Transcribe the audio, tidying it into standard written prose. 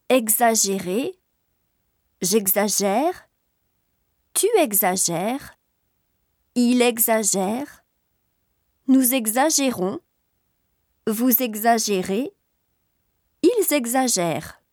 exagérer, j'exagère, tu exagères, il exagère, nous exagérons, vous exagérez, ils exagèrent.